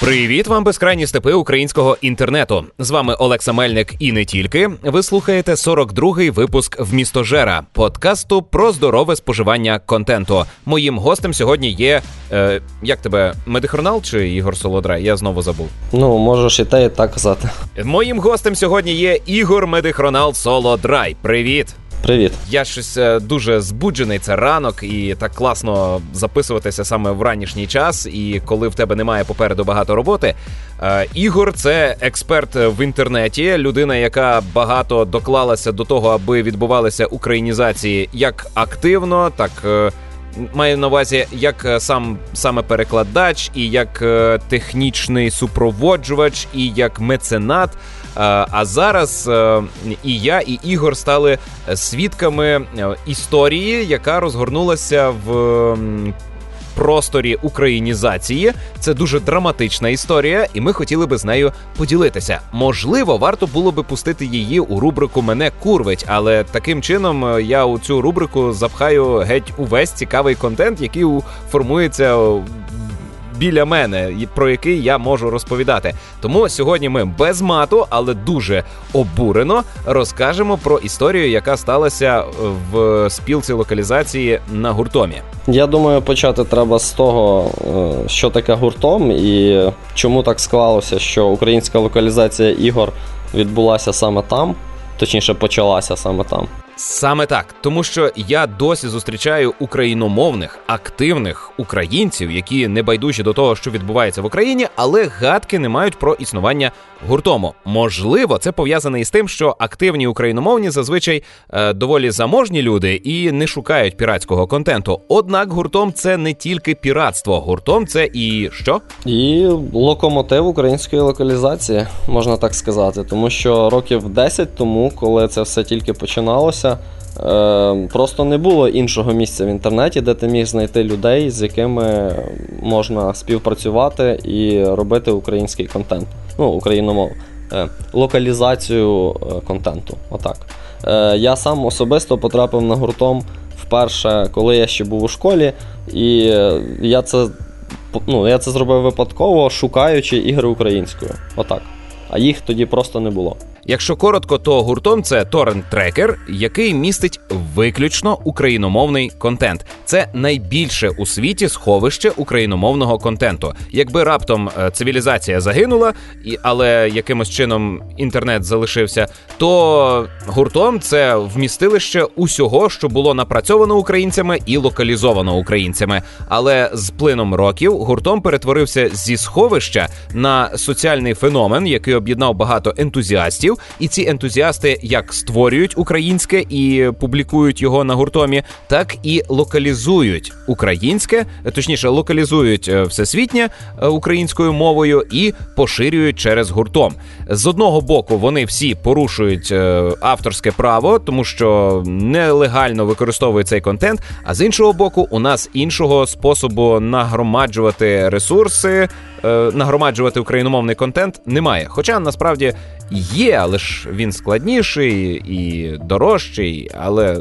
Привіт вам, безкрайні степи українського інтернету. З вами Олекса Мельник і не тільки. Ви слухаєте 42-й випуск «Вмістожера» – подкасту про здорове споживання контенту. Моїм гостем сьогодні є, як тебе, Медихронал чи Ігор Солодрай? Я знову забув. Можеш і те, і так казати. Моїм гостем сьогодні є Ігор Медихронал Солодрай. Привіт! Привіт. Я щось дуже збуджений, це ранок, і так класно записуватися саме в ранішній час, і коли в тебе немає попереду багато роботи. Ігор – це експерт в інтернеті, людина, яка багато доклалася до того, аби відбувалися українізації як активно, так маю на увазі як саме перекладач, і як технічний супроводжувач, і як меценат. А зараз і я, і Ігор стали свідками історії, яка розгорнулася в просторі українізації. Це дуже драматична історія, і ми хотіли би з нею поділитися. Можливо, варто було би пустити її у рубрику «Мене курвить», але таким чином я у цю рубрику запхаю геть увесь цікавий контент, який формується біля мене, про який я можу розповідати. Тому сьогодні ми без мату, але дуже обурено розкажемо про історію, яка сталася в спілці локалізації на Гуртомі. Я думаю, почати треба з того, що таке Гуртом і чому так склалося, що українська локалізація ігор відбулася саме там, точніше почалася саме там. Саме так, тому що я досі зустрічаю україномовних, активних українців, які не байдужі до того, що відбувається в Україні, але гадки не мають про існування Гуртому. Можливо, це пов'язане із тим, що активні україномовні зазвичай доволі заможні люди і не шукають піратського контенту. Однак Гуртом – це не тільки піратство. Гуртом – це і що? І локомотив української локалізації, можна так сказати. Тому що років 10 тому, коли це все тільки починалося, просто не було іншого місця в інтернеті, де ти міг знайти людей, з якими можна співпрацювати і робити український контент. Україномовну. Локалізацію контенту. Отак. Я сам особисто потрапив на Гуртом вперше, коли я ще був у школі, і я це зробив випадково, шукаючи ігри українською. Отак. А їх тоді просто не було. Якщо коротко, то Гуртом – це торрент-трекер, який містить виключно україномовний контент. Це найбільше у світі сховище україномовного контенту. Якби раптом цивілізація загинула, але якимось чином інтернет залишився, то Гуртом – це вмістилище усього, що було напрацьовано українцями і локалізовано українцями. Але з плином років Гуртом перетворився зі сховища на соціальний феномен, який об'єднав багато ентузіастів, і ці ентузіасти як створюють українське і публікують його на Гуртомі, так і локалізують українське, точніше локалізують всесвітнє українською мовою і поширюють через Гуртом. З одного боку, вони всі порушують авторське право, тому що нелегально використовують цей контент, а з іншого боку, у нас іншого способу нагромаджувати ресурси, нагромаджувати україномовний контент немає. Хоча, насправді, є, але ж він складніший і дорожчий, але...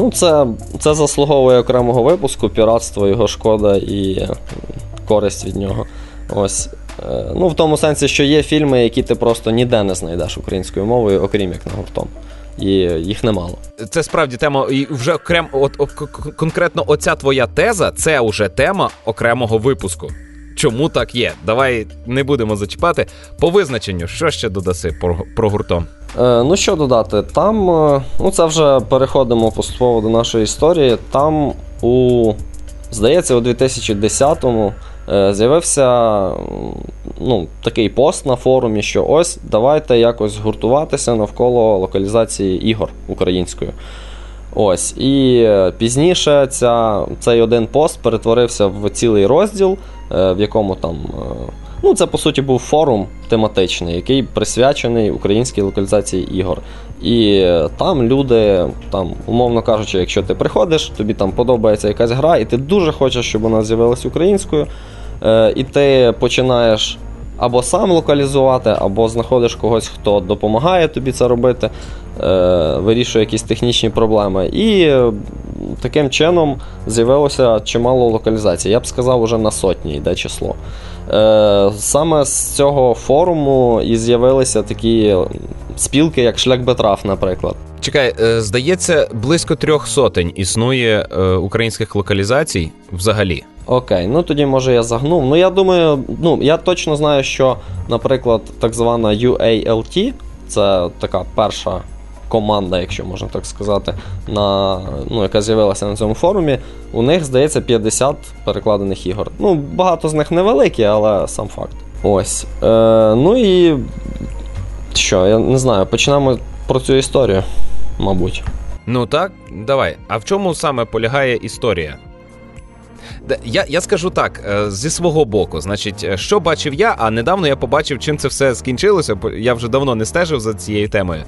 Це заслуговує окремого випуску, піратство, його шкода і користь від нього. Ось. В тому сенсі, що є фільми, які ти просто ніде не знайдеш українською мовою, окрім як на Гуртом. І їх немало. Це справді тема, і вже конкретно оця твоя теза, це вже тема окремого випуску. Чому так є? Давай не будемо зачіпати. По визначенню, що ще додаси про Гуртом? Що додати? Там, це вже переходимо поступово до нашої історії. Там здається, у 2010-му з'явився такий пост на форумі, що ось, давайте якось гуртуватися навколо локалізації ігор українською. Ось, і пізніше цей один пост перетворився в цілий розділ, в якому там, це по суті був форум тематичний, який присвячений українській локалізації ігор. І там люди, умовно кажучи, якщо ти приходиш, тобі там подобається якась гра, і ти дуже хочеш, щоб вона з'явилась українською, і ти починаєш або сам локалізувати, або знаходиш когось, хто допомагає тобі це робити, вирішує якісь технічні проблеми. І таким чином з'явилося чимало локалізацій. Я б сказав, уже на сотні йде число. Саме з цього форуму і з'явилися такі спілки, як Шлях Бетраф, наприклад. Чекай, здається, близько 300 існує українських локалізацій взагалі. Окей, тоді, може, я загнув. Я думаю, я точно знаю, що, наприклад, так звана UALT, це така перша команда, якщо можна так сказати, яка з'явилася на цьому форумі, у них, здається, 50 перекладених ігор. Багато з них невеликі, але сам факт. Ось. І що, я не знаю, почнемо про цю історію, мабуть. Так, давай. А в чому саме полягає історія? Я скажу так, зі свого боку, значить, що бачив я, а недавно я побачив, чим це все скінчилося, я вже давно не стежив за цією темою.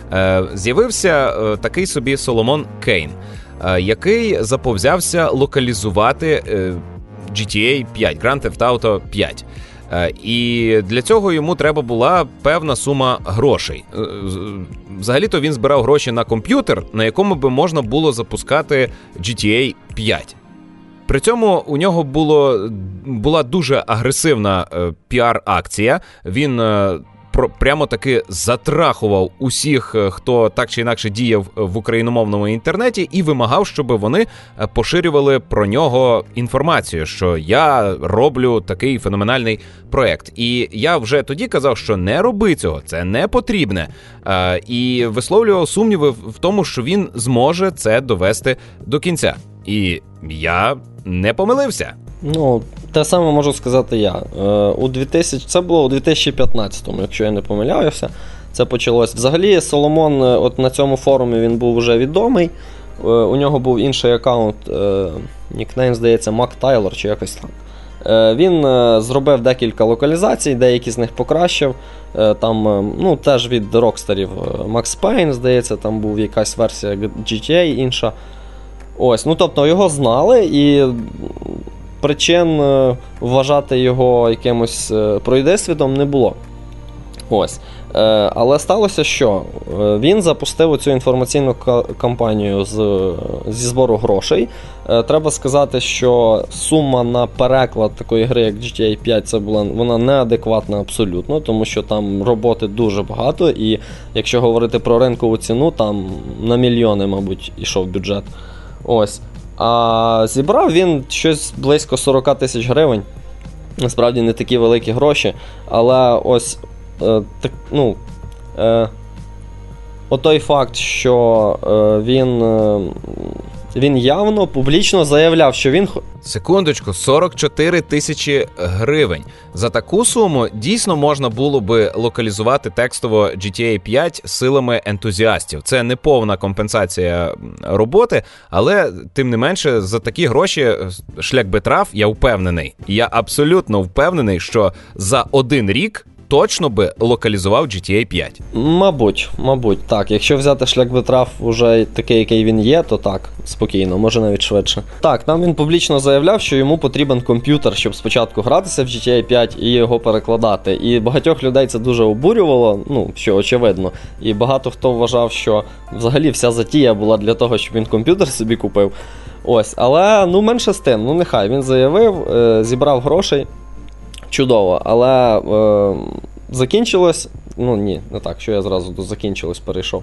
З'явився такий собі Соломон Кейн, який заповзявся локалізувати GTA 5, Grand Theft Auto 5. І для цього йому треба була певна сума грошей. Взагалі-то він збирав гроші на комп'ютер, на якому би можна було запускати GTA 5. При цьому у нього була дуже агресивна піар-акція. Він прямо-таки затрахував усіх, хто так чи інакше діяв в україномовному інтернеті, і вимагав, щоб вони поширювали про нього інформацію, що я роблю такий феноменальний проект. І я вже тоді казав, що не роби цього, це не потрібне. І висловлював сумніви в тому, що він зможе це довести до кінця. І я не помилився. Те саме можу сказати я. Це було у 2015-му, якщо я не помиляюся. Це почалось. Взагалі, Соломон на цьому форумі він був вже відомий. У нього був інший аккаунт, нікнейм, здається, Мак Тайлор чи якось так. Він зробив декілька локалізацій, деякі з них покращив. Там, теж від рокстерів. Max Payne, здається, там був якась версія GTA інша. Ось, тобто його знали, і причин вважати його якимось пройдисвітом не було. Ось. Але сталося що? Він запустив цю інформаційну кампанію зі збору грошей. Треба сказати, що сума на переклад такої гри, як GTA 5, вона неадекватна абсолютно, тому що там роботи дуже багато, і якщо говорити про ринкову ціну, там на мільйони, мабуть, ішов бюджет. Ось. А зібрав він щось близько 40 тисяч гривень. Насправді не такі великі гроші, але ось отой факт, що він явно публічно заявляв, що він... Секундочку, 44 тисячі гривень. За таку суму дійсно можна було би локалізувати текстово GTA 5 силами ентузіастів. Це не повна компенсація роботи, але тим не менше за такі гроші Шлях Бетраф, я впевнений. Я абсолютно впевнений, що за один рік точно би локалізував GTA 5. Мабуть, так. Якщо взяти Шлях Бетраф уже такий, який він є, то так, спокійно, може навіть швидше. Так, там він публічно заявляв, що йому потрібен комп'ютер, щоб спочатку гратися в GTA 5 і його перекладати. І багатьох людей це дуже обурювало, що очевидно. І багато хто вважав, що взагалі вся затія була для того, щоб він комп'ютер собі купив. Ось, але, менше з тим, нехай. Він заявив, зібрав грошей. Чудово, але закінчилось, не так, що я зразу до закінчилось перейшов.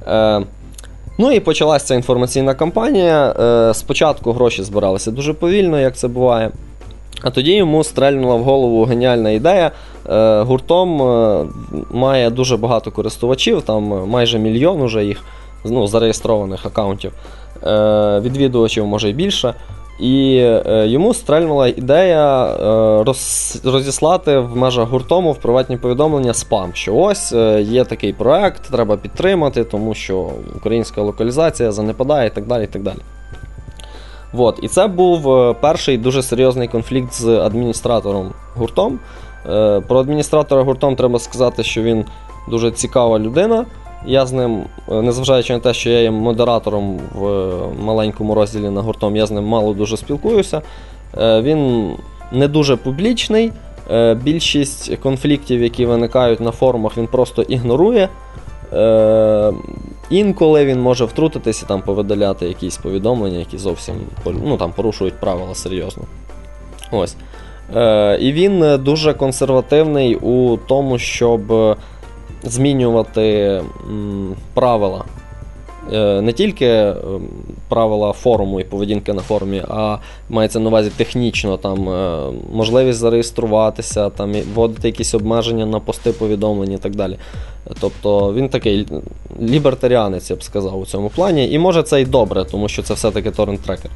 І почалася ця інформаційна кампанія. Спочатку гроші збиралися дуже повільно, як це буває. А тоді йому стрельнула в голову геніальна ідея. Гуртом має дуже багато користувачів, там майже 1 мільйон уже їх, зареєстрованих аккаунтів. Відвідувачів може й більше. І йому стрельнула ідея розіслати в межах гуртому в приватні повідомлення спам, що ось є такий проект, треба підтримати, тому що українська локалізація занепадає і так далі, і так далі. І це був перший дуже серйозний конфлікт з адміністратором гуртом. Про адміністратора гуртом треба сказати, що він дуже цікава людина. Я з ним, незважаючи на те, що я є модератором в маленькому розділі на гуртом, я з ним мало дуже спілкуюся. Він не дуже публічний, більшість конфліктів, які виникають на форумах, він просто ігнорує. інколи він може втрутитися і там повидаляти якісь повідомлення, які зовсім там порушують правила серйозно. Ось. І він дуже консервативний у тому, щоб змінювати правила. Не тільки правила форуму і поведінки на форумі, а мається на увазі технічно, там можливість зареєструватися, там вводити якісь обмеження на пости повідомлень і так далі. Тобто він такий лібертаріанець, я б сказав, у цьому плані. І може це й добре, тому що це все-таки торрент-трекер.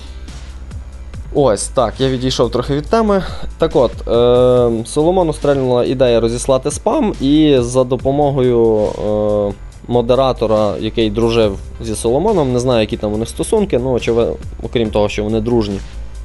Ось, так, я відійшов трохи від теми. Так от, Соломону стрельнула ідея розіслати спам, і за допомогою модератора, який дружив зі Соломоном, не знаю, які там у них стосунки, окрім того, що вони дружні,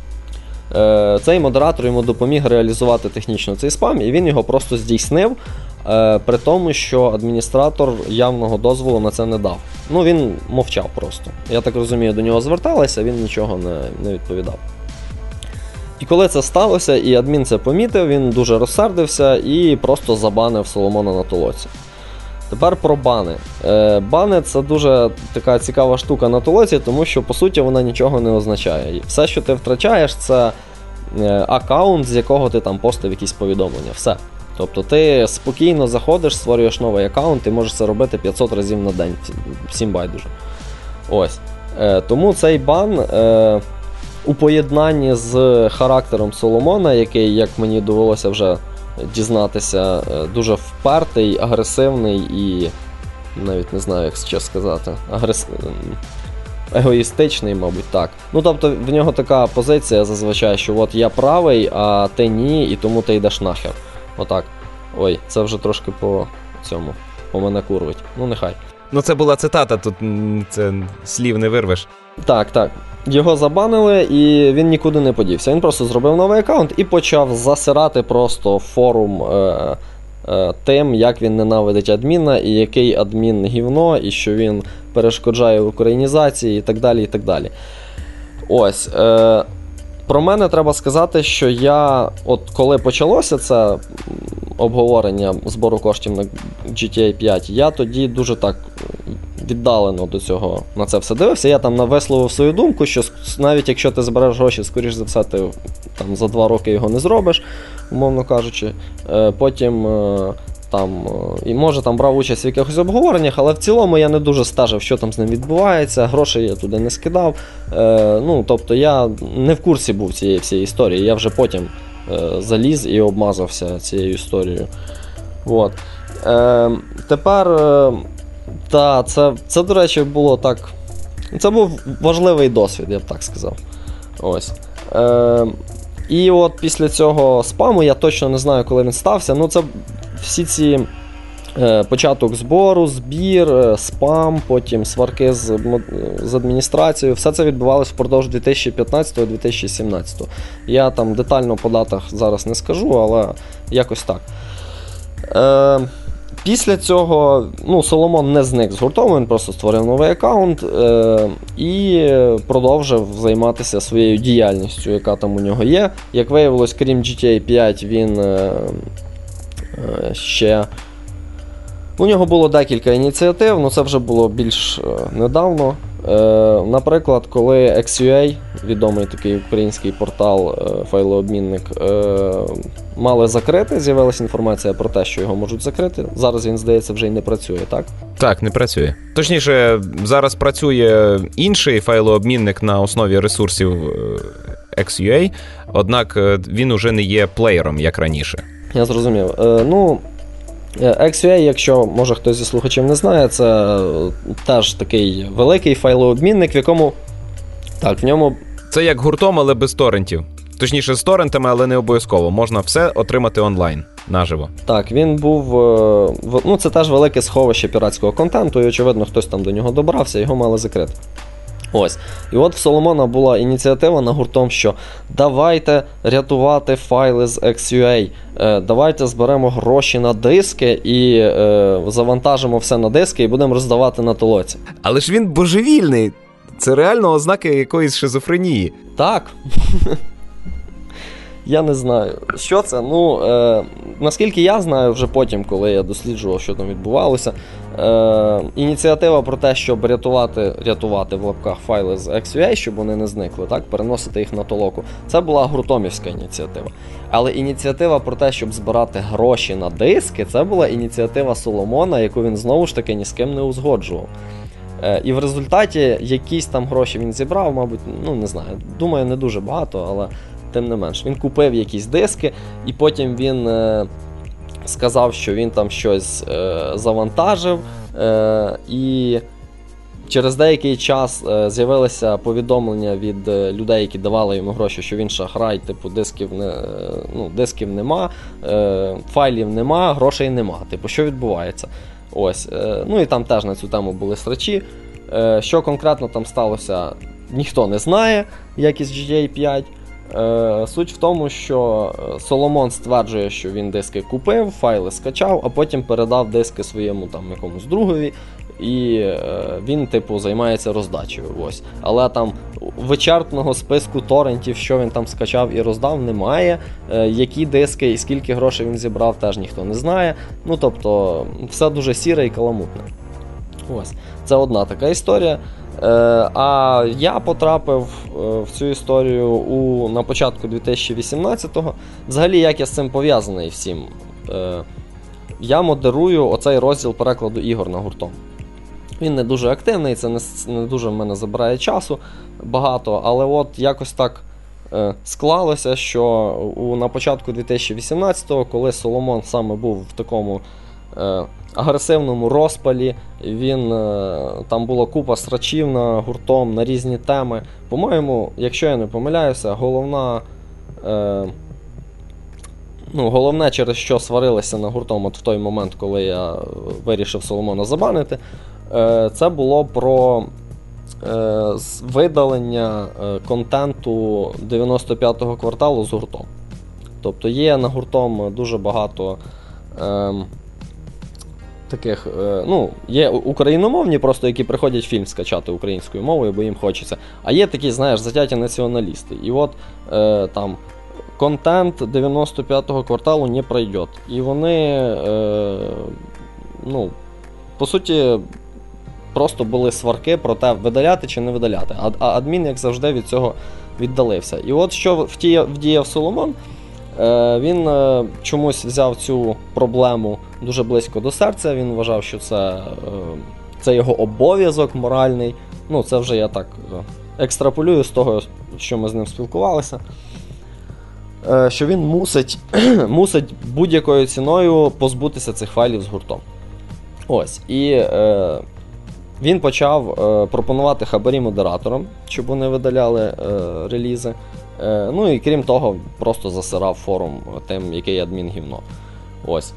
цей модератор йому допоміг реалізувати технічно цей спам, і він його просто здійснив, при тому, що адміністратор явного дозволу на це не дав. Він мовчав просто. Я так розумію, до нього зверталися, він нічого не відповідав. І коли це сталося, і адмін це помітив, він дуже розсердився і просто забанив Соломона на толоці. Тепер про бани. Бани – це дуже така цікава штука на толоці, тому що, по суті, вона нічого не означає. Все, що ти втрачаєш, це аккаунт, з якого ти там постив якісь повідомлення. Все. Тобто ти спокійно заходиш, створюєш новий аккаунт, і можеш це робити 500 разів на день. Всім байдуже. Ось. Тому цей бан у поєднанні з характером Соломона, який, як мені довелося вже дізнатися, дуже впертий, агресивний і, навіть не знаю, як ще сказати, егоїстичний, мабуть, так. Тобто в нього така позиція зазвичай, що от я правий, а ти ні, і тому ти йдеш нахер. Отак. Ой, це вже трошки по мене курвить. Нехай. Це була цитата, тут це слів не вирвеш. Так. Його забанили, і він нікуди не подівся. Він просто зробив новий аккаунт і почав засирати просто форум тим, як він ненавидить адміна, і який адмін гівно, і що він перешкоджає українізації, і так далі, і так далі. Ось. Про мене треба сказати, що я, коли почалося це обговорення збору коштів на GTA 5, я тоді дуже так віддалено до цього на це все дивився. Я там висловив свою думку, що навіть якщо ти збереш гроші, скоріш за все, ти там за 2 роки його не зробиш, умовно кажучи. Потім і може там брав участь в якихось обговореннях, але в цілому я не дуже стежив, що там з ним відбувається, грошей я туди не скидав. Тобто я не в курсі був цієї всієї історії, я вже потім заліз і обмазався цією історією. От. Тепер, це, до речі, було так. Це був важливий досвід, я б так сказав. Ось. І от після цього спаму, я точно не знаю, коли він стався, це всі ці початок збору, збір, спам, потім сварки з адміністрацією, все це відбувалося впродовж 2015-2017. Я там детально по датах зараз не скажу, але якось так. Після цього Соломон не зник з гуртом, він просто створив новий аккаунт і продовжив займатися своєю діяльністю, яка там у нього є. Як виявилось, крім GTA 5, він ще... У нього було декілька ініціатив, це вже було більш недавно. Наприклад, коли XUA, відомий такий український портал, файлообмінник, мали закрити, з'явилася інформація про те, що його можуть закрити. Зараз він, здається, вже й не працює, так? Так, не працює. Точніше, зараз працює інший файлообмінник на основі ресурсів XUA, однак він уже не є плеєром, як раніше. Я зрозумів. XUA, якщо, може, хтось зі слухачів не знає, це теж такий великий файлообмінник, в якому... Так, в ньому... Це як гуртом, але без торрентів. Точніше, з торрентами, але не обов'язково. Можна все отримати онлайн, наживо. Так, він був... це теж велике сховище піратського контенту, і, очевидно, хтось там до нього добрався, його мали закрити. Ось. І от в Соломона була ініціатива на гуртом, що давайте рятувати файли з XUA, давайте зберемо гроші на диски і завантажимо все на диски і будемо роздавати на толоці. Але ж він божевільний. Це реально ознаки якоїсь шизофренії. Так. Я не знаю, що це. Наскільки я знаю, вже потім, коли я досліджував, що там відбувалося, ініціатива про те, щоб рятувати в лапках файли з XUA, щоб вони не зникли, так, переносити їх на толоку, це була гуртомівська ініціатива. Але ініціатива про те, щоб збирати гроші на диски, це була ініціатива Соломона, яку він знову ж таки ні з ким не узгоджував. І в результаті якісь там гроші він зібрав, мабуть, не знаю, думаю, не дуже багато, але тим не менш. Він купив якісь диски, і потім він сказав, що він там щось завантажив, і через деякий час з'явилися повідомлення від людей, які давали йому гроші, що він шахрай, типу дисків нема, файлів нема, грошей нема. Типу, що відбувається? Ось. І там теж на цю тему були срачі. Що конкретно там сталося, ніхто не знає, як із GTA 5. Суть в тому, що Соломон стверджує, що він диски купив, файли скачав, а потім передав диски своєму там якомусь другові, і він, типу, займається роздачею. Ось. Але там вичерпного списку торрентів, що він там скачав і роздав, немає. Які диски і скільки грошей він зібрав, теж ніхто не знає. Тобто, все дуже сіре і каламутне. Ось. Це одна така історія. А я потрапив в цю історію на початку 2018-го. Взагалі, як я з цим пов'язаний всім? Я модерую оцей розділ перекладу ігор на гуртом. Він не дуже активний, це не дуже в мене забирає часу багато, але от якось так склалося, що на початку 2018-го, коли Соломон саме був в такому агресивному розпалі, там була купа срачів на гуртом на різні теми. По-моєму, якщо я не помиляюся, головне, через що сварилися на гуртом от в той момент, коли я вирішив Соломона забанити, це було про видалення контенту 95-го кварталу з гуртом. Тобто є на гуртом дуже багато таких, є україномовні, просто які приходять фільм скачати українською мовою, бо їм хочеться. А є такі, знаєш, затяті націоналісти. І от там контент 95-го кварталу не пройде. І вони, по суті, просто були сварки про те, видаляти чи не видаляти. А адмін, як завжди, від цього віддалився. І от що вдіяв Соломон, він чомусь взяв цю проблему дуже близько до серця, він вважав, що це його обов'язок моральний. Це вже я так екстраполюю з того, що ми з ним спілкувалися. Що він мусить будь-якою ціною позбутися цих файлів з гуртом. Ось. І він почав пропонувати хабарі модераторам, щоб вони видаляли релізи. І крім того, просто засирав форум тим, який адмін гівно. Ось.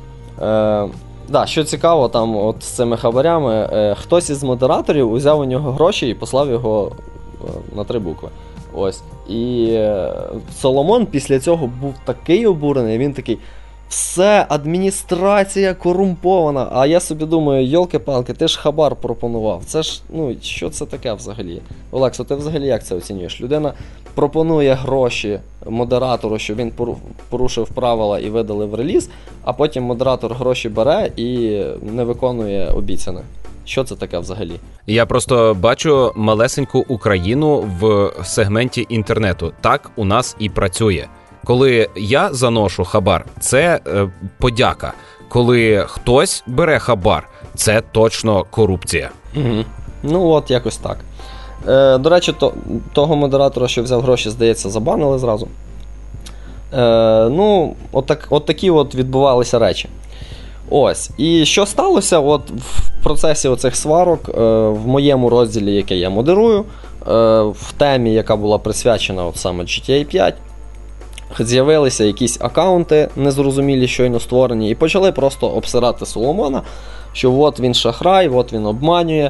Що цікаво, там от з цими хабарями, хтось із модераторів узяв у нього гроші і послав його на 3 букви. Ось. І Соломон після цього був такий обурений, він такий: все, адміністрація корумпована. А я собі думаю, йолки-палки, ти ж хабар пропонував. Це ж, що це таке взагалі? Олексо, ти взагалі як це оцінюєш? Людина пропонує гроші модератору, щоб він порушив правила і видалив реліз, а потім модератор гроші бере і не виконує обіцяне. Що це таке взагалі? Я просто бачу малесеньку Україну в сегменті інтернету. Так у нас і працює. Коли я заношу хабар, це подяка. Коли хтось бере хабар, це точно корупція. Угу. От якось так. До речі, того модератора, що взяв гроші, здається, забанили зразу. От такі от відбувалися речі. Ось. І що сталося в процесі оцих сварок в моєму розділі, який я модерую, в темі, яка була присвячена саме GTA 5, з'явилися якісь акаунти незрозумілі, щойно створені, і почали просто обсирати Соломона, що от він шахрай, от він обманює,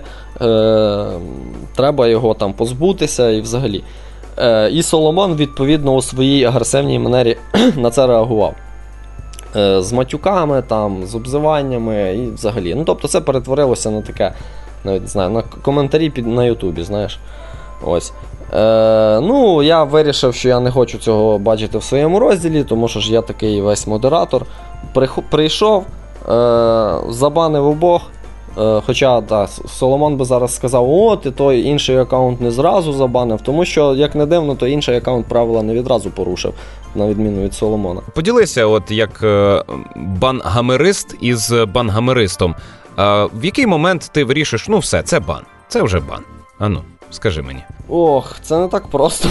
треба його там позбутися і взагалі. І Соломон, відповідно, у своїй агресивній манері на це реагував. З матюками, з обзиваннями і взагалі. Тобто це перетворилося на таке, навіть не знаю, на коментарі на Ютубі, знаєш. Ось. Ну, я вирішив, що я не хочу цього бачити в своєму розділі, тому що ж я такий весь модератор. Прийшов, забанив обох. Хоча, так, Соломон би зараз сказав, о, ти той інший аккаунт не зразу забанив, тому що, як не дивно, то інший аккаунт правила не відразу порушив, на відміну від Соломона. Поділися, от як бангамерист із бангамеристом. В який момент ти вирішиш, ну все, це бан, це вже бан. Ану, скажи мені. Ох, це не так просто.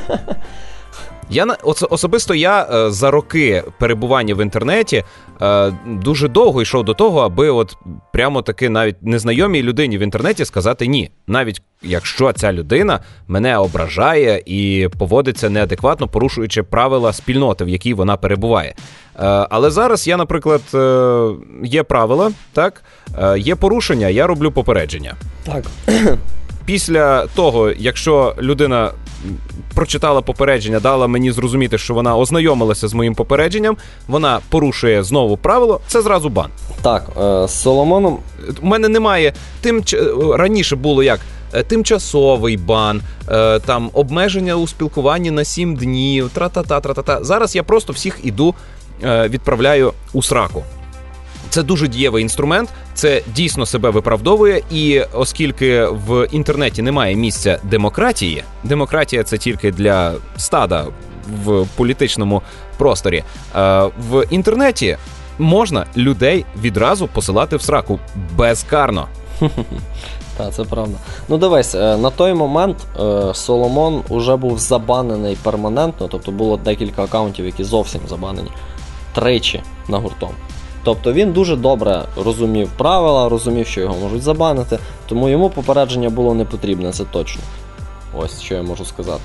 Особисто я за роки перебування в інтернеті дуже довго йшов до того, аби от прямо таки навіть незнайомій людині в інтернеті сказати ні. Навіть якщо ця людина мене ображає і поводиться неадекватно, порушуючи правила спільноти, в якій вона перебуває. Але зараз я, наприклад, є правила, так, є порушення, я роблю попередження. Так. Після того, якщо людина прочитала попередження, дала мені зрозуміти, що вона ознайомилася з моїм попередженням, вона порушує знову правило, це зразу бан. Так, з Соломоном... У мене немає, раніше було як тимчасовий бан, там обмеження у спілкуванні на 7 днів, тра-та-та. Зараз я просто всіх відправляю у сраку. Це дуже дієвий інструмент, це дійсно себе виправдовує, і оскільки в інтернеті немає місця демократії, демократія це тільки для стада в політичному просторі, в інтернеті можна людей відразу посилати в сраку безкарно. Так, це правда. Ну дивись, на той момент Соломон уже був забанений перманентно, тобто було декілька аккаунтів, які зовсім забанені, 3 на гуртом. Тобто він дуже добре розумів правила, розумів, що його можуть забанити, тому йому попередження було не потрібне, це точно. Ось, що я можу сказати.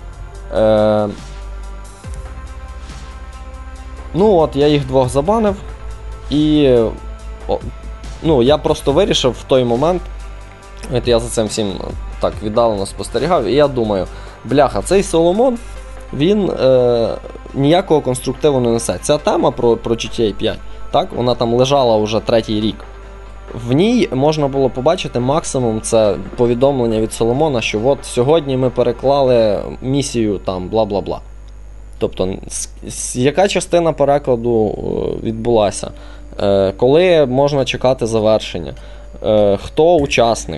Ну от, я їх 2 забанив, і я просто вирішив в той момент, от я за цим всім так віддалено спостерігав, і я думаю, бляха, цей Соломон, він ніякого конструктиву не несе. Ця тема про GTA 5, так, вона там лежала вже 3-й рік. В ній можна було побачити максимум це повідомлення від Соломона, що от сьогодні ми переклали місію там бла-бла-бла. Тобто, яка частина перекладу відбулася, коли можна чекати завершення, хто учасник,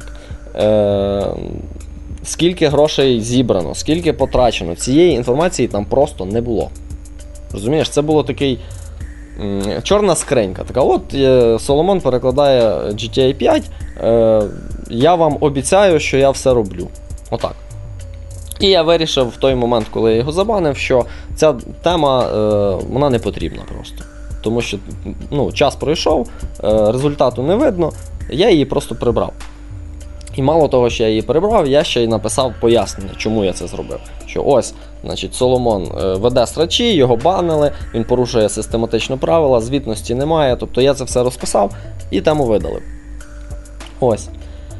скільки грошей зібрано, скільки потрачено. Цієї інформації там просто не було. Розумієш, це було такий чорна скринька. Така, от Соломон перекладає GTA 5, я вам обіцяю, що я все роблю. Отак. І я вирішив в той момент, коли я його забанив, що ця тема, вона не потрібна просто. Тому що час пройшов, результату не видно, я її просто прибрав. І мало того, що я її прибрав, я ще й написав пояснення, чому я це зробив. Що ось, значить, Соломон веде срачі, його банили, він порушує систематично правила, звітності немає, тобто я це все розписав і тему видалив. Ось.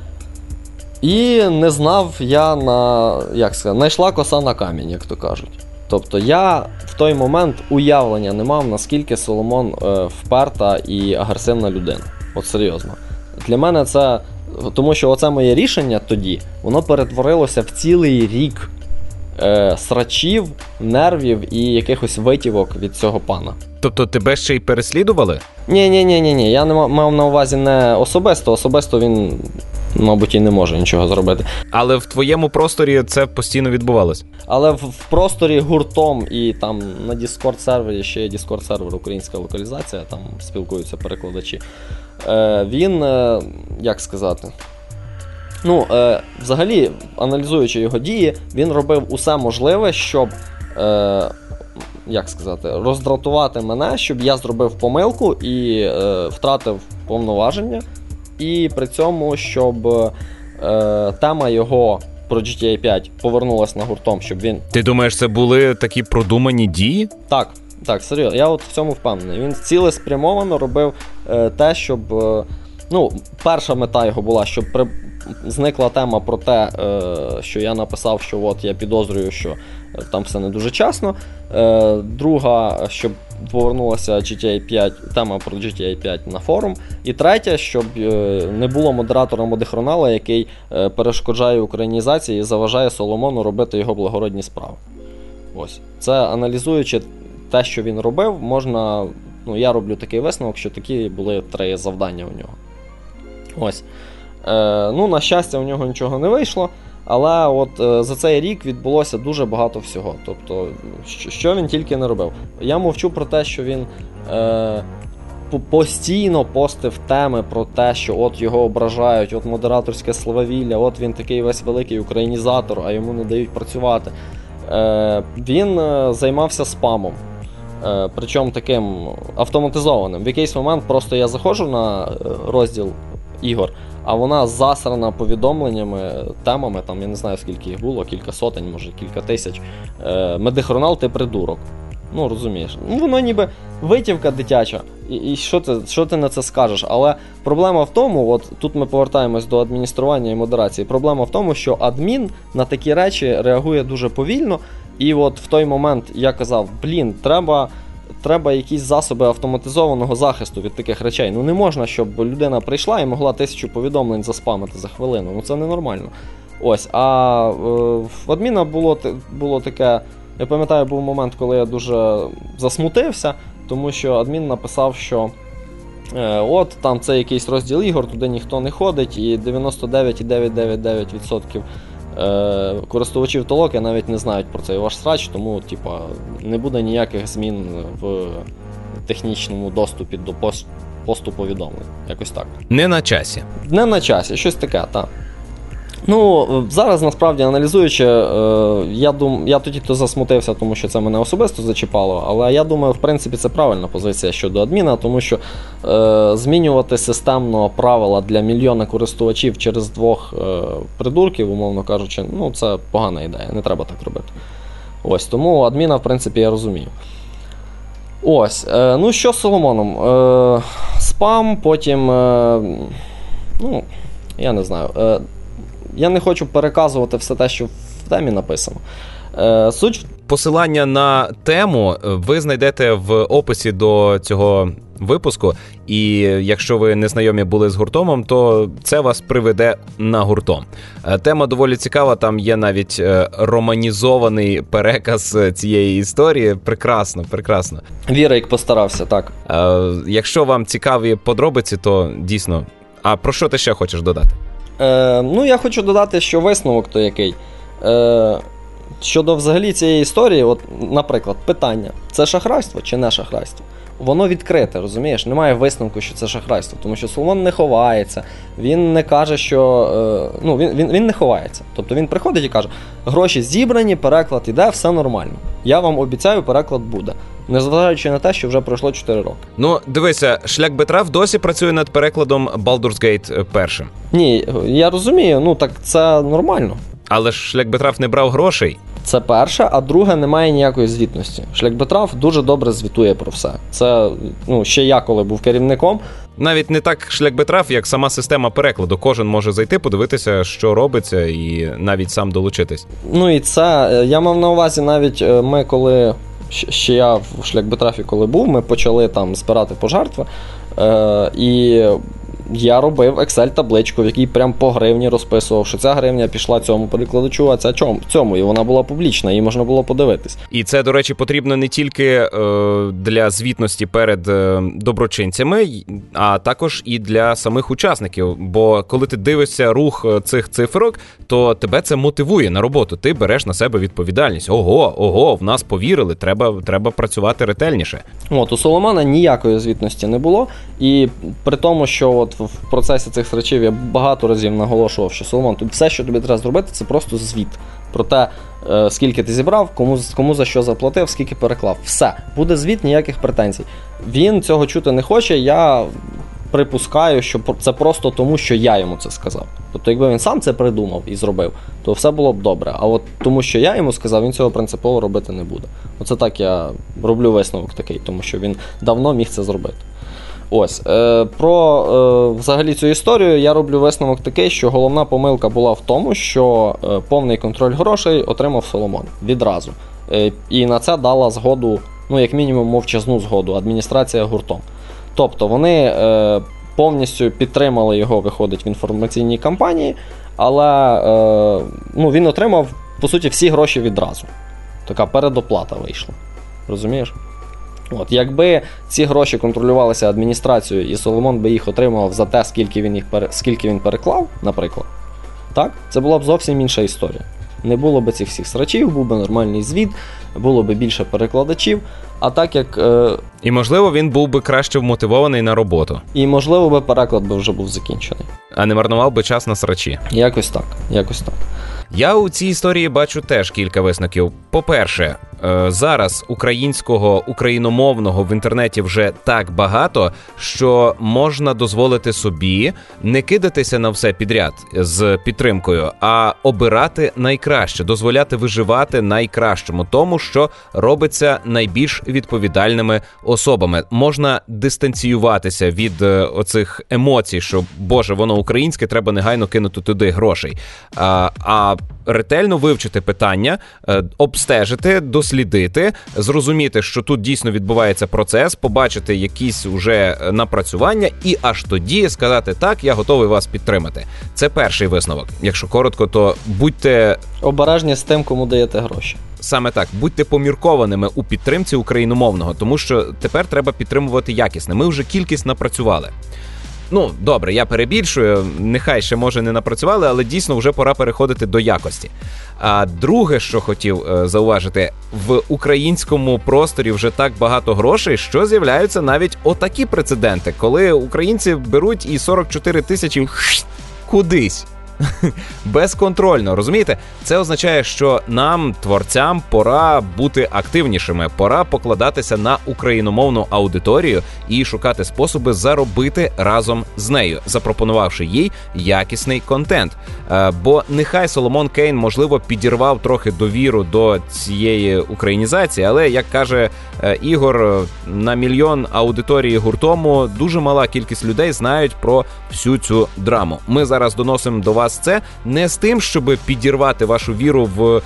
І не знав я знайшла коса на камінь, як то кажуть. Тобто я в той момент уявлення не мав, наскільки Соломон вперта і агресивна людина. От серйозно. Для мене це, тому що оце моє рішення тоді, воно перетворилося в цілий рік срачів, нервів і якихось витівок від цього пана. Тобто тебе ще й переслідували? Ні, я не мав на увазі не особисто він, мабуть, і не може нічого зробити. Але в твоєму просторі це постійно відбувалось? Але в просторі гуртом і там на Discord-сервері, ще є Discord-сервер, українська локалізація, там спілкуються перекладачі. Він, як сказати, взагалі, аналізуючи його дії, він робив усе можливе, щоб, роздратувати мене, щоб я зробив помилку і втратив повноваження. І при цьому, щоб тема його про GTA 5 повернулась на гуртом, щоб він... Ти думаєш, це були такі продумані дії? Так, серйозно, я от в цьому впевнений. Він цілеспрямовано робив те, щоб... перша мета його була, щоб зникла тема про те, що я написав, що от я підозрюю, що там все не дуже чесно. Друга, щоб повернулася GTA 5, тема про GTA 5 на форум. І третя, щоб не було модератора Модехронала, який перешкоджає українізації і заважає Соломону робити його благородні справи. Ось. Це, аналізуючи те, що він робив, можна, я роблю такий висновок, що такі були 3 завдання у нього. Ось. На щастя, у нього нічого не вийшло, але от за цей рік відбулося дуже багато всього. Тобто, що він тільки не робив. Я мовчу про те, що він постійно постив теми про те, що от його ображають, от модераторське слававілля, от він такий весь великий українізатор, а йому не дають працювати. Він займався спамом. Причому таким автоматизованим. В якийсь момент просто я заходжу на розділ ігор, а вона засрана повідомленнями, темами, там я не знаю скільки їх було, кілька сотень, може кілька тисяч. Медихронал, ти придурок. Розумієш. Воно ніби витівка дитяча. І що ти на це скажеш? Але проблема в тому, от тут ми повертаємось до адміністрування і модерації, проблема в тому, що адмін на такі речі реагує дуже повільно, і от в той момент я казав, треба якісь засоби автоматизованого захисту від таких речей. Не можна, щоб людина прийшла і могла 1000 повідомлень заспамити за хвилину. Це ненормально. Ось, а в адміна було таке, я пам'ятаю, був момент, коли я дуже засмутився, тому що адмін написав, що от там це якийсь розділ ігор, туди ніхто не ходить, і 99,999% користувачів толоки навіть не знають про цей ваш срач, тому не буде ніяких змін в технічному доступі до посту повідомлень. Якось так. Не на часі. Не на часі, щось таке, так. Зараз, насправді, аналізуючи, я тоді засмутився, тому що це мене особисто зачіпало, але я думаю, в принципі, це правильна позиція щодо адміна, тому що змінювати системно правила для мільйона користувачів через 2 придурків, умовно кажучи, це погана ідея, не треба так робити. Ось, тому адміна, в принципі, я розумію. Ось, що з Соломоном? Спам, потім, я не знаю. Я не хочу переказувати все те, що в темі написано. Посилання на тему ви знайдете в описі до цього випуску, і якщо ви не знайомі були з гуртомом, то це вас приведе на гуртом. Тема доволі цікава, там є навіть романізований переказ цієї історії. Прекрасно, прекрасно. Вірик постарався, так. Якщо вам цікаві подробиці, то дійсно. А про що ти ще хочеш додати? Я хочу додати, що висновок то який. Щодо взагалі цієї історії, от, наприклад, питання, це шахрайство чи не шахрайство? Воно відкрите, розумієш? Немає висновку, що це шахрайство, тому що Соломон не ховається, він не каже, що... він не ховається. Тобто він приходить і каже, гроші зібрані, переклад іде, все нормально. Я вам обіцяю, переклад буде. Незважаючи на те, що вже пройшло 4 роки. Дивися, Шлях Бетрав досі працює над перекладом Baldur's Gate 1. Ні, я розумію, так це нормально. Але ж Шлях Бетрав не брав грошей. Це перше, а друге, немає ніякої звітності. Шлях Бетрав дуже добре звітує про все. Це, ще я, коли був керівником. Навіть не так Шлях Бетрав, як сама система перекладу. Кожен може зайти, подивитися, що робиться, і навіть сам долучитись. І це, я мав на увазі навіть ми, коли... Ще я в Шлях Бетрафі, коли був, ми почали там збирати пожертви, і я робив Excel-табличку, в якій прям по гривні розписував, що ця гривня пішла цьому перекладачу, а ця цьому, і вона була публічна, її можна було подивитись. І це, до речі, потрібно не тільки для звітності перед доброчинцями, а також і для самих учасників, бо коли ти дивишся рух цих цифрок, то тебе це мотивує на роботу, ти береш на себе відповідальність. Ого, в нас повірили, треба працювати ретельніше. У Соломона ніякої звітності не було, і при тому, що от в процесі цих речів я багато разів наголошував, що Соломон, тут все, що тобі треба зробити, це просто звіт про те, скільки ти зібрав, кому за що заплатив, скільки переклав. Все, буде звіт, ніяких претензій. Він цього чути не хоче, я припускаю, що це просто тому, що я йому це сказав. Тобто, якби він сам це придумав і зробив, то все було б добре. А от тому, що я йому сказав, він цього принципово робити не буде. Оце так я роблю висновок такий, тому що він давно міг це зробити. Ось, про взагалі цю історію я роблю висновок такий, що головна помилка була в тому, що повний контроль грошей отримав Соломон відразу. І на це дала згоду, ну як мінімум мовчазну згоду, адміністрація гуртом. Тобто вони повністю підтримали його, виходить, в інформаційній кампанії, але він отримав, по суті, всі гроші відразу. Така передоплата вийшла. Розумієш? От, якби ці гроші контролювалися адміністрацією і Соломон би їх отримав за те, скільки він переклав, наприклад, так? Це була б зовсім інша історія. Не було б цих всіх срачів, був би нормальний звіт, було б більше перекладачів, а так як... І, можливо, він був би краще вмотивований на роботу. І, можливо, би переклад би вже був закінчений. А не марнував би час на срачі. Якось так. Я у цій історії бачу теж кілька висновків. По-перше, зараз україномовного в інтернеті вже так багато, що можна дозволити собі не кидатися на все підряд з підтримкою, а обирати найкраще, дозволяти виживати найкращому, тому, що робиться найбільш відповідальними особами. Можна дистанціюватися від оцих емоцій, що, боже, воно українське, треба негайно кинути туди грошей. А ретельно вивчити питання, обстежити, дослідити, зрозуміти, що тут дійсно відбувається процес, побачити якісь уже напрацювання і аж тоді сказати, так, я готовий вас підтримати. Це перший висновок. Якщо коротко, то будьте... обережні з тим, кому даєте гроші. Саме так. Будьте поміркованими у підтримці україномовного, тому що тепер треба підтримувати якісне. Ми вже кількість напрацювали. Ну, добре, я перебільшую, нехай ще, може, не напрацювали, але дійсно вже пора переходити до якості. А друге, що хотів зауважити, в українському просторі вже так багато грошей, що з'являються навіть отакі прецеденти, коли українці беруть і 44 тисячі кудись. Безконтрольно, розумієте? Це означає, що нам, творцям, пора бути активнішими, пора покладатися на україномовну аудиторію і шукати способи заробити разом з нею, запропонувавши їй якісний контент. Бо нехай Соломон Кейн, можливо, підірвав трохи довіру до цієї українізації, але, як каже Ігор, на мільйон аудиторії гуртому дуже мала кількість людей знають про всю цю драму. Ми зараз доносимо до вас це не з тим, щоб підірвати вашу віру в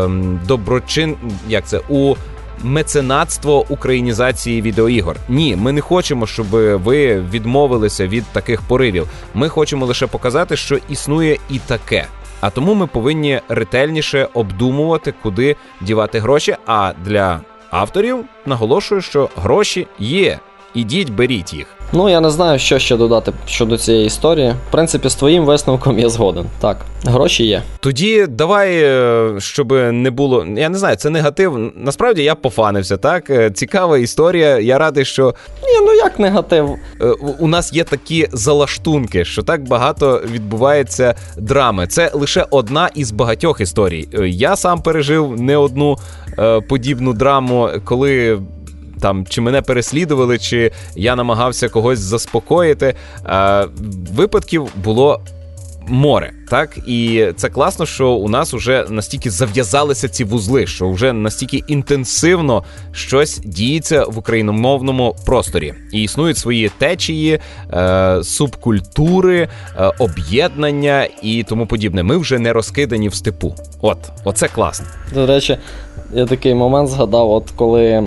у меценатство українізації відеоігор. Ні, ми не хочемо, щоб ви відмовилися від таких поривів. Ми хочемо лише показати, що існує і таке. А тому ми повинні ретельніше обдумувати, куди дівати гроші. А для авторів наголошую, що гроші є. Ідіть, беріть їх. Ну, я не знаю, що ще додати щодо цієї історії. В принципі, з твоїм висновком я згоден. Так, гроші є. Тоді давай, щоб не було... Я не знаю, це негатив. Насправді, я пофанився, так? Цікава історія. Я радий, що... Ні, ну як негатив? У нас є такі залаштунки, що так багато відбувається драми. Це лише одна із багатьох історій. Я сам пережив не одну подібну драму, коли... Там, чи мене переслідували, чи я намагався когось заспокоїти. Випадків було море, так? І це класно, що у нас вже настільки зав'язалися ці вузли, що вже настільки інтенсивно щось діється в україномовному просторі. І існують свої течії, субкультури, об'єднання і тому подібне. Ми вже не розкидані в степу. Оце класно. До речі, я такий момент згадав, от коли...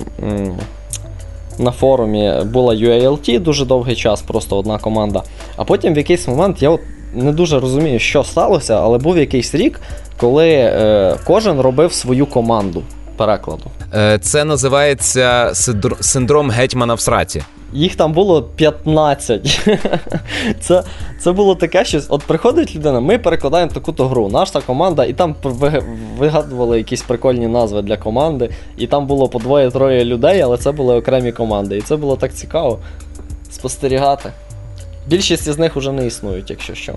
на форумі була UALT дуже довгий час, просто одна команда. А потім в якийсь момент, я от не дуже розумію, що сталося, але був якийсь рік, коли кожен робив свою команду перекладу. Це називається синдром гетьмана в сраці. Їх там було 15. Це було таке щось. От приходить людина, ми перекладаємо таку-то гру, наша команда, і там вигадували якісь прикольні назви для команди, і там було по 2-3 людей, але це були окремі команди. І це було так цікаво спостерігати. Більшість із них вже не існують, якщо що.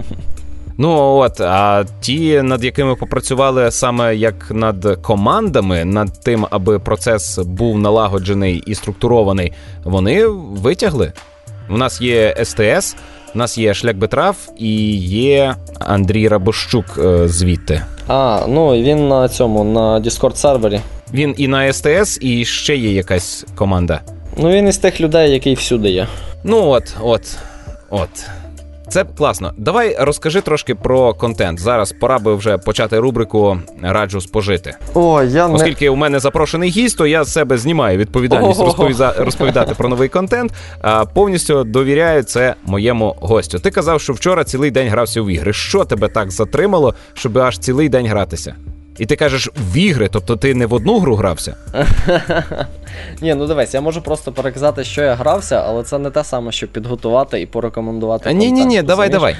Ну а ті, над якими попрацювали саме як над командами, над тим, аби процес був налагоджений і структурований, вони витягли. У нас є СТС, у нас є Шлях Бетрав і є Андрій Рабощук звідти. Ну він на Discord сервері. Він і на СТС, і ще є якась команда. Ну, він із тих людей, який всюди є. Ну, от. Це класно. Давай розкажи трошки про контент. Зараз пора би вже почати рубрику «Раджу спожити». Оскільки у мене запрошений гість, то я з себе знімаю відповідальність розповідати про новий контент, а повністю довіряю це моєму гостю. Ти казав, що вчора цілий день грався в ігри. Що тебе так затримало, щоб аж цілий день гратися? І ти кажеш, в ігри, тобто ти не в одну гру грався? Ні, ну дивись, я можу просто переказати, що я грався, але це не те саме, щоб підготувати і порекомендувати контент. Ні, давай.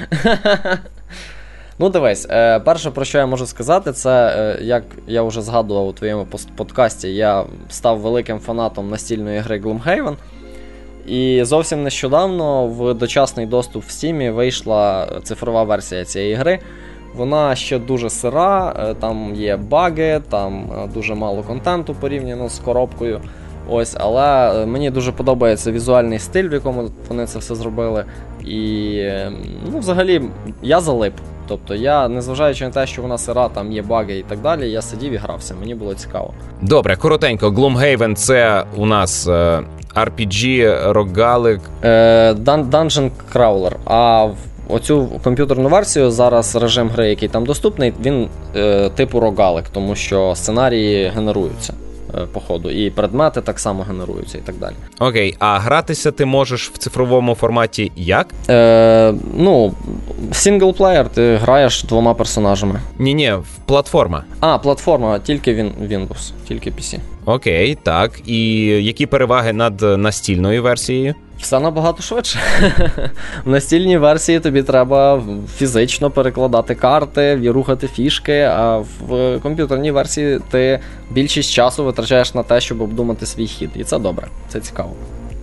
Ну дивись, перше, про що я можу сказати, це, як я вже згадував у твоєму подкасті, я став великим фанатом настільної гри Gloomhaven. І зовсім нещодавно в дочасний доступ в Steam вийшла цифрова версія цієї гри. Вона ще дуже сира, там є баги, там дуже мало контенту порівняно з коробкою. Ось, але мені дуже подобається візуальний стиль, в якому вони це все зробили. І, ну, взагалі, я залип. Тобто я, незважаючи на те, що вона сира, там є баги і так далі, я сидів і грався, мені було цікаво. Добре, коротенько, Gloomhaven — це у нас RPG, рогалик. Dungeon Crawler, а оцю комп'ютерну версію, зараз режим гри, який там доступний, він типу рогалик, тому що сценарії генеруються по ходу, і предмети так само генеруються і так далі. Окей, а гратися ти можеш в цифровому форматі як? Ну, синглплеєр, ти граєш двома персонажами. Ні, платформа. Платформа, тільки Windows, тільки PC. Окей, так. І які переваги над настільною версією? Все набагато швидше. В настільній версії тобі треба фізично перекладати карти, рухати фішки, а в комп'ютерній версії ти більшість часу витрачаєш на те, щоб обдумати свій хід. І це добре, це цікаво.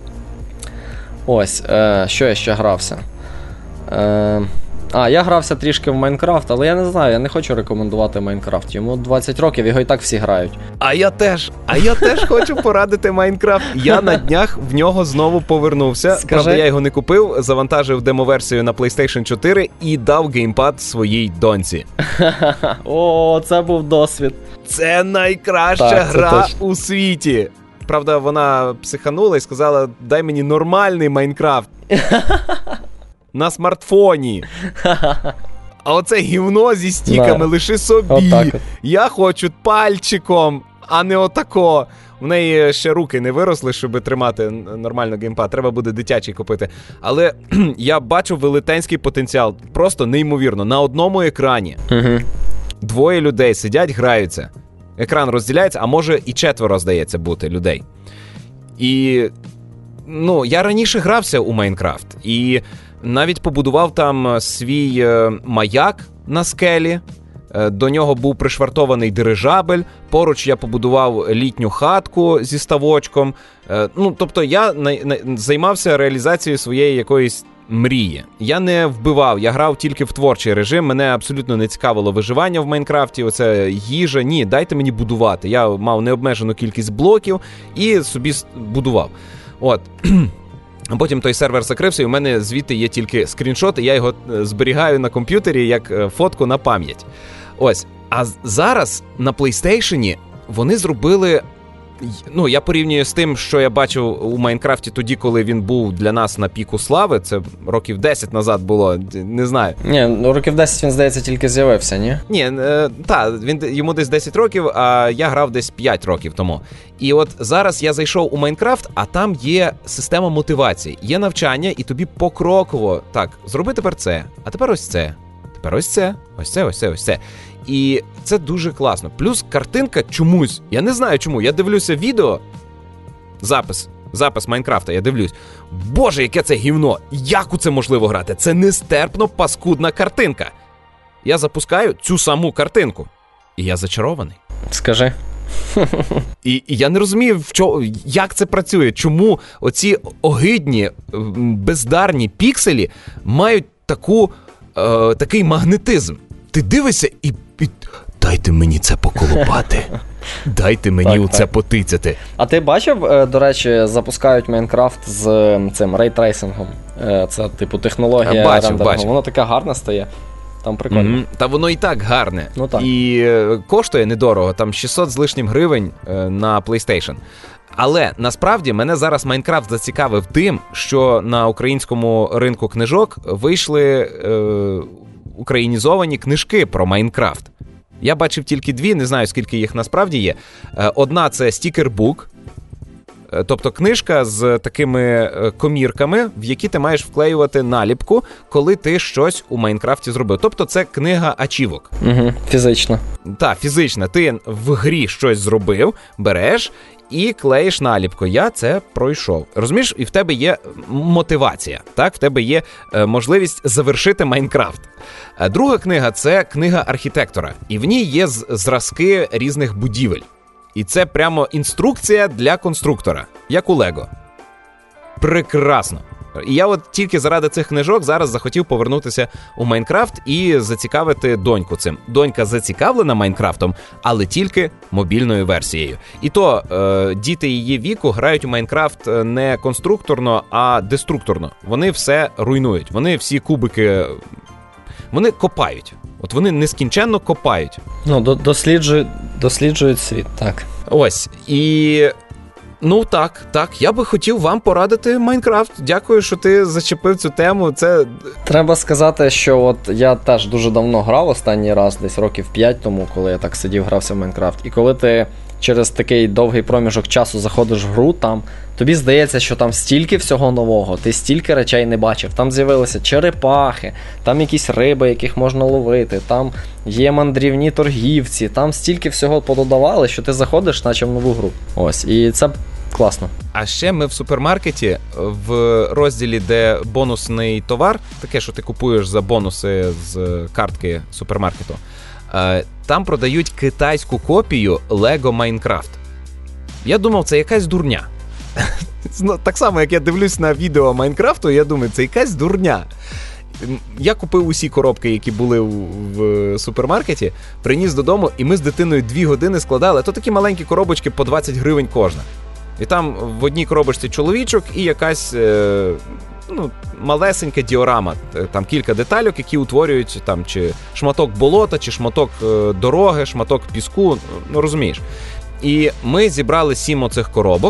Ось, що я ще грався? Я грався трішки в Майнкрафт, але я не знаю, я не хочу рекомендувати Майнкрафт. Йому 20 років, його і так всі грають. А я теж хочу порадити Майнкрафт. Я на днях в нього знову повернувся. Скажи. Правда, я його не купив, завантажив демоверсію на PlayStation 4 і дав геймпад своїй доньці. О, це був досвід. Це найкраща гра у світі. Правда, вона психанула і сказала, дай мені нормальний Майнкрафт. На смартфоні. А оце гівно зі стіками лиши собі. Отак. Я хочу пальчиком, а не отако. В неї ще руки не виросли, щоб тримати нормально геймпад. Треба буде дитячий купити. Але я бачу велетенський потенціал. Просто неймовірно. На одному екрані двоє людей сидять, граються. Екран розділяється, а може і 4, здається, бути людей. І, ну, я раніше грався у Майнкрафт. І навіть побудував там свій маяк на скелі, до нього був пришвартований дирижабель, поруч я побудував літню хатку зі ставочком. Ну, тобто я займався реалізацією своєї якоїсь мрії. Я не вбивав, я грав тільки в творчий режим, мене абсолютно не цікавило виживання в Майнкрафті, оце їжа, ні, дайте мені будувати. Я мав необмежену кількість блоків і собі будував. От. А потім той сервер закрився, і у мене звідти є тільки скріншот, і я його зберігаю на комп'ютері як фотку на пам'ять. Ось. А зараз на PlayStation вони зробили... Ну, я порівнюю з тим, що я бачив у Майнкрафті тоді, коли він був для нас на піку слави. Це років 10 назад було, не знаю. Ні, років 10 він, здається, тільки з'явився, ні? Ні, йому десь 10 років, а я грав десь 5 років тому. І от зараз я зайшов у Майнкрафт, а там є система мотивації. Є навчання, і тобі покроково, так, зроби тепер це, а тепер ось це, тепер ось це, ось це, ось це, ось це. І це дуже класно. Плюс картинка чомусь, я не знаю чому, я дивлюся відео, запис Майнкрафта, я дивлюсь. Боже, яке це гівно! Як у це можливо грати? Це нестерпно паскудна картинка. Я запускаю цю саму картинку. І я зачарований. Скажи. І я не розумію, як це працює. Чому оці огидні, бездарні пікселі мають такий магнетизм. Ти дивишся і дайте мені це поколупати. Дайте мені це потицяти. А ти бачив, до речі, запускають Майнкрафт з цим рейтрейсингом? Це, типу, технологія рендерингу. Воно таке гарне стає. Там прикольно. Та воно і так гарне. Ну, так. І коштує недорого, там 600 з лишнім гривень на PlayStation. Але насправді мене зараз Майнкрафт зацікавив тим, що на українському ринку книжок вийшли українізовані книжки про Майнкрафт. Я бачив тільки дві, не знаю, скільки їх насправді є. Одна – це стікербук, тобто книжка з такими комірками, в які ти маєш вклеювати наліпку, коли ти щось у Майнкрафті зробив. Тобто це книга ачівок. Угу, фізична. Так, фізична. Ти в грі щось зробив, береш і клеїш наліпку. Я це пройшов. Розумієш? І в тебе є мотивація. Так? В тебе є можливість завершити Майнкрафт. Друга книга – це книга архітектора. І в ній є зразки різних будівель. І це прямо інструкція для конструктора, як у Лего. Прекрасно. І я от тільки заради цих книжок зараз захотів повернутися у Майнкрафт і зацікавити доньку цим. Донька зацікавлена Майнкрафтом, але тільки мобільною версією. І то діти її віку грають у Майнкрафт не конструкторно, а деструкторно. Вони все руйнують. Вони всі кубики... Вони копають. От вони нескінченно копають. Ну, досліджують світ, так. Ось. І... Ну, так. Я би хотів вам порадити Майнкрафт. Дякую, що ти зачепив цю тему. Це... Треба сказати, що от я теж дуже давно грав останній раз, десь років 5 тому, коли я так сидів, грався в Майнкрафт. І коли ти через такий довгий проміжок часу заходиш в гру, там тобі здається, що там стільки всього нового, ти стільки речей не бачив. Там з'явилися черепахи, там якісь риби, яких можна ловити, там є мандрівні торгівці, там стільки всього пододавали, що ти заходиш, наче в нову гру. Ось, і це класно. А ще ми в супермаркеті, в розділі, де бонусний товар, таке, що ти купуєш за бонуси з картки супермаркету, там продають китайську копію Lego Minecraft. Я думав, це якась дурня. Так само, як я дивлюсь на відео Майнкрафту, я думаю, це якась дурня. Я купив усі коробки, які були в супермаркеті, приніс додому, і ми з дитиною 2 години складали. То такі маленькі коробочки по 20 гривень кожна. І там в одній коробочці чоловічок і якась малесенька діорама. Там кілька детальок, які утворюють там чи шматок болота, чи шматок дороги, шматок піску, ну розумієш. І ми зібрали 7 оцих коробок,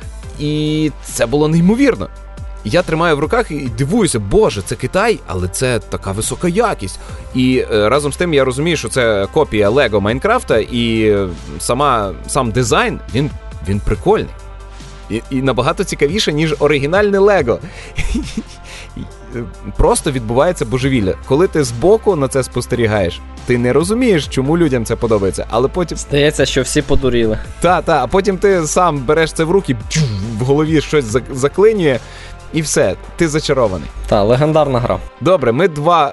і це було неймовірно. Я тримаю в руках і дивуюся, боже, це Китай, але це така висока якість. І разом з тим я розумію, що це копія Lego Майнкрафта, і сам дизайн, він прикольний. І набагато цікавіше, ніж оригінальне Лего. Просто відбувається божевілля. Коли ти збоку на це спостерігаєш, ти не розумієш, чому людям це подобається, але потім... Здається, що всі подуріли. А потім ти сам береш це в руки, в голові щось заклинює, і все, ти зачарований. Легендарна гра. Добре, ми два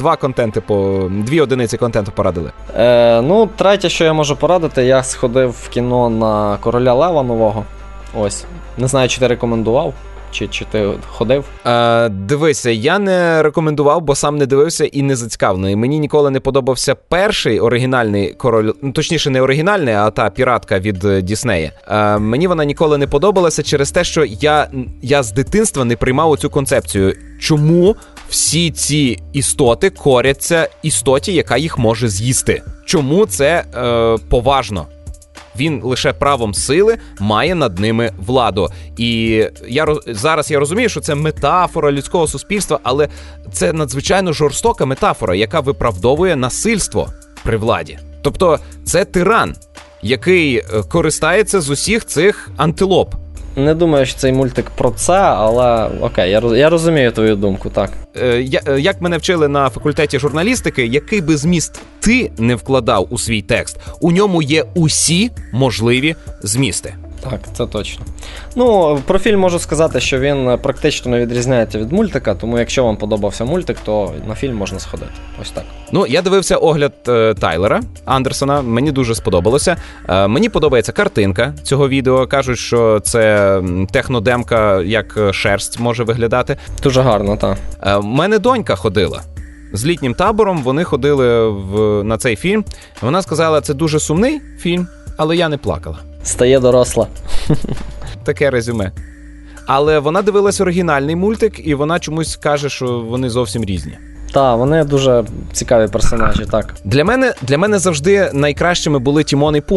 дві одиниці контенту порадили. Третє, що я можу порадити, я сходив в кіно на Короля Лева нового. Ось. Не знаю, чи ти рекомендував, чи ти ходив? Дивися, я не рекомендував, бо сам не дивився і не зацікавлений. Мені ніколи не подобався перший оригінальний Король, точніше не оригінальний, а та піратка від Діснея. Мені вона ніколи не подобалася через те, що я з дитинства не приймав оцю концепцію. Чому всі ці істоти коряться істоті, яка їх може з'їсти? Чому це поважно? Він лише правом сили має над ними владу. І зараз я розумію, що це метафора людського суспільства, але це надзвичайно жорстока метафора, яка виправдовує насильство при владі. Тобто це тиран, який користається з усіх цих антилоп. Не думаю, що цей мультик про це, але окей, я розумію твою думку, так. Як мене вчили на факультеті журналістики, який би зміст ти не вкладав у свій текст, у ньому є усі можливі змісти. Так, це точно. Про фільм можу сказати, що він практично не відрізняється від мультика, тому якщо вам подобався мультик, то на фільм можна сходити. Ось так. Я дивився огляд Тайлера Андерсона, мені дуже сподобалося. Мені подобається картинка цього відео. Кажуть, що це технодемка, як шерсть може виглядати. Дуже гарно, так. У мене донька ходила. З літнім табором вони ходили на цей фільм. Вона сказала, це дуже сумний фільм, але я не плакала. Стає доросла. Таке резюме. Але вона дивилась оригінальний мультик, і вона чомусь каже, що вони зовсім різні. Так, вони дуже цікаві персонажі, так. Для мене завжди найкращими були Тімон і Пумба.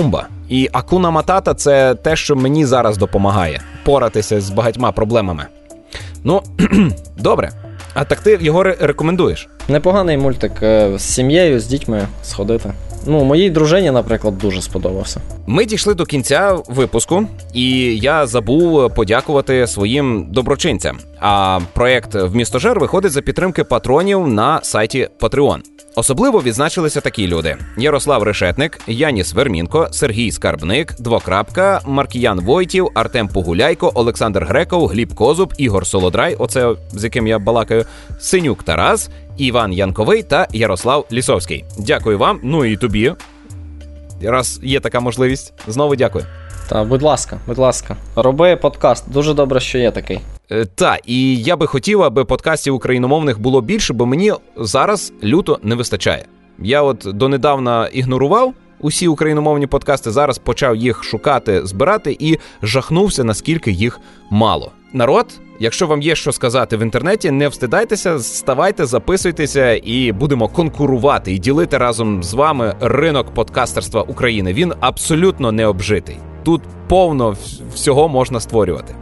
І Акуна Матата – це те, що мені зараз допомагає поратися з багатьма проблемами. Ну, добре. А так ти його рекомендуєш? Непоганий мультик, з сім'єю, з дітьми сходити. Ну, моїй дружині, наприклад, дуже сподобався. Ми дійшли до кінця випуску, і я забув подякувати своїм доброчинцям. А проєкт «Вмістожер» виходить за підтримки патронів на сайті Patreon. Особливо відзначилися такі люди: Ярослав Решетник, Яніс Вермінко, Сергій Скарбник, Двокрапка, Маркіян Войтів, Артем Погуляйко, Олександр Греков, Гліб Козуб, Ігор Солодрай, оце з яким я балакаю, Синюк Тарас, Іван Янковий та Ярослав Лісовський. Дякую вам, ну і тобі, раз є така можливість. Знову дякую. Та, будь ласка, роби подкаст. Дуже добре, що є такий. Так, і я би хотів, аби подкастів україномовних було більше, бо мені зараз люто не вистачає. Я от донедавна ігнорував усі україномовні подкасти, зараз почав їх шукати, збирати і жахнувся, наскільки їх мало. Народ, якщо вам є що сказати в інтернеті, не встидайтеся, ставайте, записуйтеся і будемо конкурувати і ділити разом з вами ринок подкастерства України. Він абсолютно не обжитий. Тут повно всього можна створювати.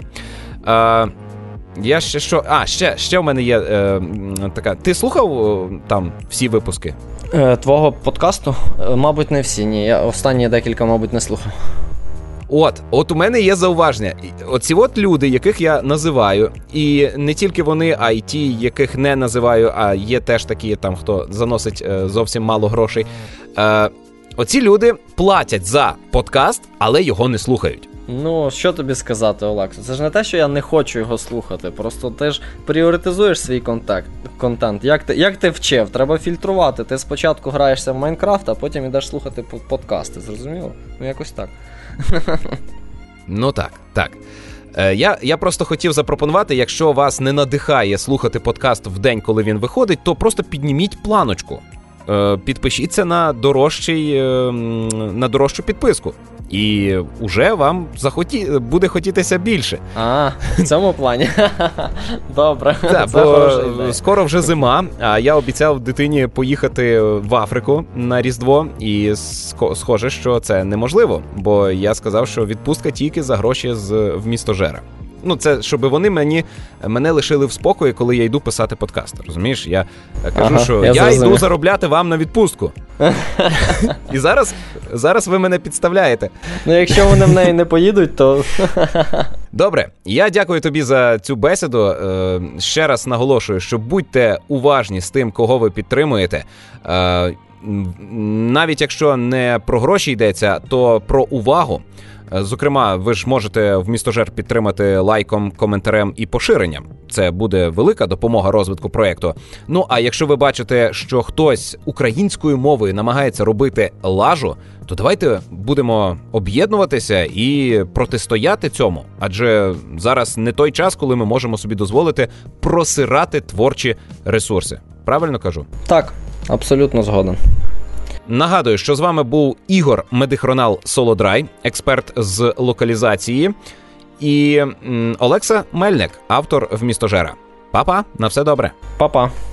Я ще що... ще в мене є така... Ти слухав там всі випуски? Твого подкасту? Мабуть, не всі, ні. Я останні декілька, мабуть, не слухав. От у мене є зауваження. Оці от люди, яких я називаю, і не тільки вони, а й ті, яких не називаю, а є теж такі, там, хто заносить зовсім мало грошей. Оці люди платять за подкаст, але його не слухають. Ну, що тобі сказати, Олексо? Це ж не те, що я не хочу його слухати. Просто ти ж пріоритизуєш свій контент. Як ти вчив? Треба фільтрувати. Ти спочатку граєшся в Майнкрафт, а потім йдеш слухати подкасти. Зрозуміло? Ну, якось так. Ну так. Я просто хотів запропонувати, якщо вас не надихає слухати подкаст в день, коли він виходить, то просто підніміть планочку. Підпишіться на дорожчу підписку. І уже вам буде хотітися більше. В цьому плані. Добре. Так, бо скоро вже зима, а я обіцяв дитині поїхати в Африку на Різдво, і схоже, що це неможливо, бо я сказав, що відпустка тільки за гроші з «Вмістожера». Ну, це, щоб вони мене лишили в спокої, коли я йду писати подкаст. Розумієш? Я кажу, що я йду заробляти вам на відпустку. І зараз ви мене підставляєте. Ну, якщо вони в неї не поїдуть, то... Добре, я дякую тобі за цю бесіду. Ще раз наголошую, що будьте уважні з тим, кого ви підтримуєте. Навіть якщо не про гроші йдеться, то про увагу. Зокрема, ви ж можете «Вмістожер» підтримати лайком, коментарем і поширенням. Це буде велика допомога розвитку проєкту. Ну, а якщо ви бачите, що хтось українською мовою намагається робити лажу, то давайте будемо об'єднуватися і протистояти цьому. Адже зараз не той час, коли ми можемо собі дозволити просирати творчі ресурси. Правильно кажу? Так, абсолютно згоден. Нагадую, що з вами був Ігор Медихронал Солодрай, експерт з локалізації, і Олекса Мельник, автор «Вмістожера». Па-па, на все добре. Па-па.